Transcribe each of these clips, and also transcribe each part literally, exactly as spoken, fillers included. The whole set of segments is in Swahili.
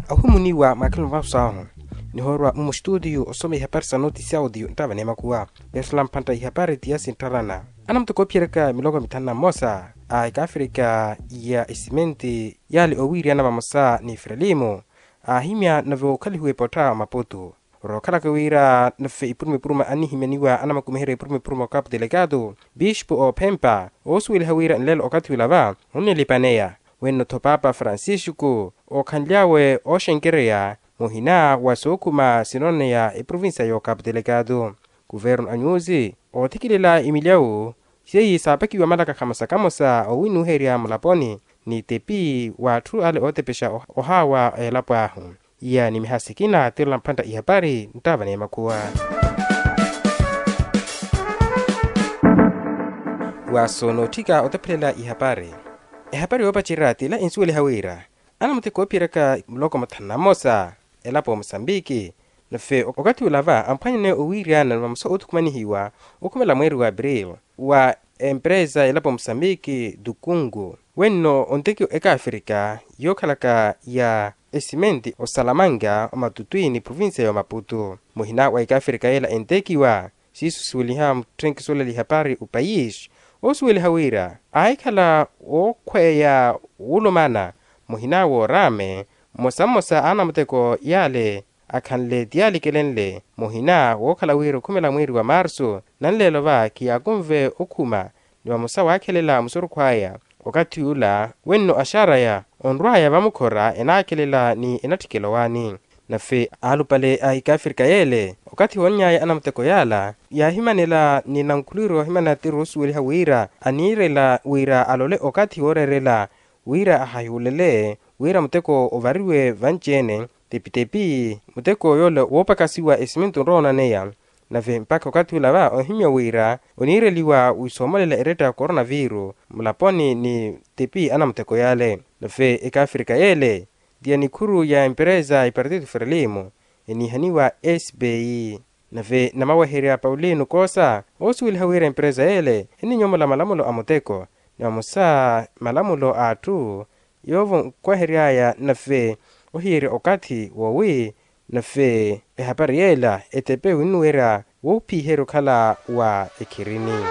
ahumuniwa makalo vausaho ni horwa mu studio osome habari sa notice audio ntava nema kuwa Islam panta habari tiasi ntarana ana mtu kopiereka milogo mitana mosa a Afrika ya isimenti yali owiri ana mamosa ni Frelimo a himya navo kali huwe pota Maputo rokala kawira nafe ipurume puruma ani himeniwa ana makumehere ipurume puruma kap delegado Bishop o Pempa oswil hawira nlelo okati wilava unne lipanea wenno topapa Francisco o kanliawe o shenkerea mohina wasokuma sinone ya e provincia yo Cabo Delgado governo anyuzi o tikilela Emiliao sei sapaki wa malaka kamasa kamosa o winu heria mulaponi ni tepi wa tru ale otepesha o hawa e lapahu ya ni mihasikina tela mpanda ihabari ntava nema kuwa wasonotika otepelela ihabari ihabari wapachirati la insuele hawira ana mte kopireka mloko matana mosa elapo Mozambique nafe wakati ulava ampanyane uwiriana na mso utukumani hiwa ukumela mweri wa Abril wa empresa elapo Mozambique dukungu wenno ontekio eka Afrika yokalaka ya esimenti o Salamanga o Matutuini provincia ya Maputo mohina wa eka Afrika ela entekiwa sisu suliha mtrenki sola lihapari upayish o sueli hawira aikala o kweya ulumana mohina wo rame mosa mosa ana mteko yale akanle diali kelenle mohina wo kala wiro kumela mwiri wa Marso nanlelo va kiyakumve okuma ni wa musa wakelela musuru kwaya wakati ula wenno ashara ya onraya vamukora enakelela ni enatikelowani nafe alupale aika Afrika yele wakati wonyaya ana mteko yala ya himanela ni nankuliro himana tirusu wili hawira anirela wira alole wakati worerela wira ahayulele wira muteko ovariwe vanchene tepitepi muteko yole wopakasiwa esiminto rona neya nave mpaka wakati ulava ohimya wira onireliwa uisomolela ereta coronavirus mulaponi ni tepi ana muteko yale nave eka Afrika yele dia ni kuru ya empresa i Partido Frelimo eni haniwa S B I nave namawaheria Paulino Kosa osuwili hawira empresa yele eni nyomola malamulo amuteko na musa malamulo atu yovo kwa heriaya nafe ohiri okati wowi nafe ehabari yela etepe winuera wopi hero kala wa ekirini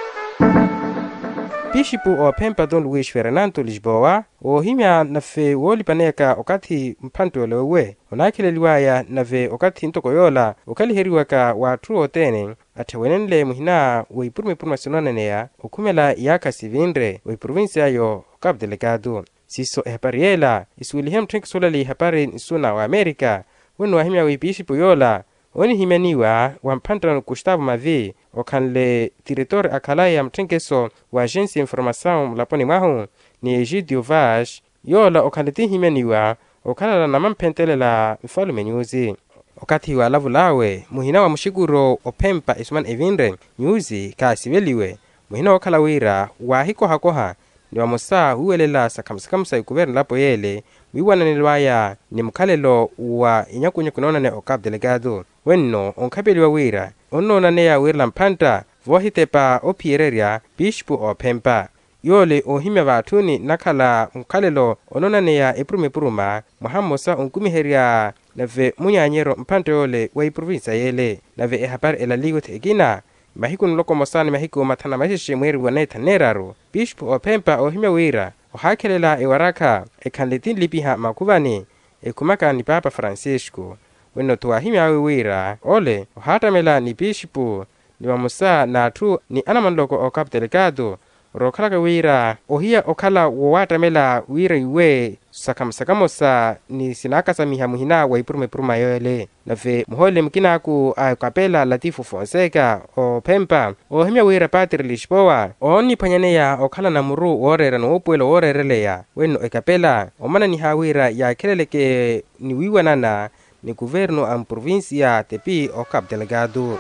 Bishop o Pempa Don Luis Fernando Lisboa o himya nafe wolipaneka okati mpanto lewe onakile liwaya nafe okati ntoko yola okali heriwaka wa truo tene atewenenle muhina we ipurume puruma sinonanea okumela yaka sivindre we provincia yo Cabo Delgado siso ehabari yela isuilihem trink solali habari nisuna wa Amerika wenu wa himya we Bishop yola oni himeniwa wa mpantano Gustavo Mavi okanle diretor akalaya mtrenkeso wa agência informação mulaponi mahu ni Egidio Vaz yola okanleti himeniwa okala na mampentelela mfalume nyuzi okati wa lavulawe muhina wa mushiguro opempa isman evindre nyuzi kasiveliwe muhina wakala wira wa hiko hakoha ni wa musa huwelela sakamsakamsa yukuverni lapo yele wiwana nilwaya ni mkalelo wa inyakunyo kunonane o Cabo Delgado wenno onkabeli wa wira onona neya wirla mpanta vohitepa opiereria Bishop o Pempa yole ohimya vatuni nakala mkalelo onona neya iprume puruma muhamosa onkumiheria nave munyanyero mpanta yole wa provincia yele nave ehabari elaliwet egina mahiku nloko mosani mahiku matana mahishe mweri waneta neraro Bishop o Pempa ohimya wira ohakelela ewaraka ekanletin lipiha makuvani ekumaka ni Papa Francisco wenno tuwahimya wira ole ohatamela ni Bishop ni wamusa na tu ni anamanloko o Cabo Delgado rokalaka wira ohia okala wowatamela wira iwe sakamsakamosa ni sinakasa miha muhina wa ipurume puruma yole nave muhole mkinaku a kapela Latifu Fonseca o Pempa o himya wira Padre Lisboa oni panyaneya okala na muru orera no opuelo orereleya wenno e kapela omana ni hawira ya keleleke ni wiwanana ni governo am provincia tepi o Cabo Delgado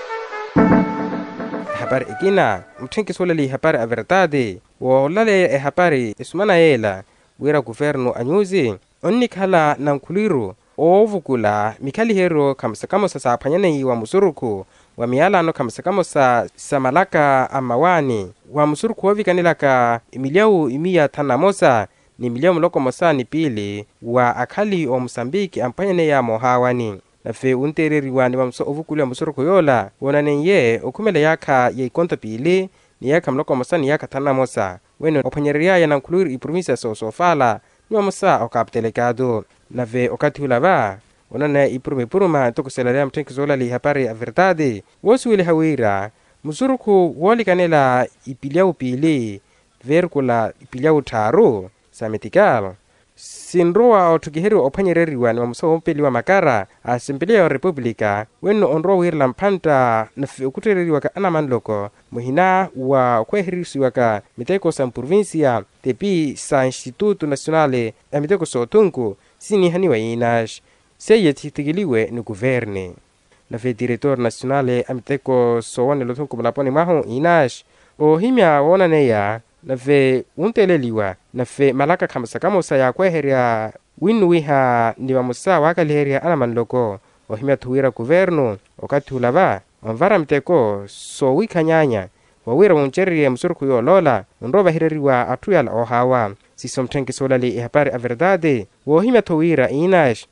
habari ikina mtrenki solali habari a verdade wo lale e habari ismana yela wira governo anyuzi onni kala nankuliru ovukula mikali hero kamsakamo sa panyane wa musuruku wa miala no kamsakamo sa samalaka amawani wa musuruku wavikanilaka Emiliao imia tanamosa ni milio mloko mosani pili wa akali o Mosambiki ampanyane ya mohawani na fe untereriwa ni mamso ovukuli wa musoro kuyola wona nenye okumele yaka ya ikonta pili ni yaka mloko mosani yaka tana mosa weno opanyeria ya nankuluri ipromisa so sofala ni mamosa okaptelecado na ve okati hulava onana iprume puruma tokuselarea mtenkizola li hapari a verdade wosu ile hawira musuruku woli kanela ipilia upili verkula ipilia utaru sametikal sinroa otukiheri opanyereriwa ni mamuso ompeli wa makara asembelia wa republika weno onro wirla mpanta na ukutereriwa ka anamanloko muhina wa kweherisiwa ka miteko sa provincia tepi sa Instituto Nacionale ya miteko sotunku sini hani wa inash seye titigiliwe ni guverne na fe director nacionale amiteko sowane lotunku mlaponi maho inash o himya wona neya na fe unteleliwa na fe malaka kamsa kamosa ya kweheria winuwiha ni mamusa wakaliheria anamanloko o himya tuwira guverno okati hulava onvara miteko so wikanyanya wawira woncherie musuruku yo lola nroba hireriwa atuyala ohawa sisomtenki solali ihapari a verdade wo himya tuwira inash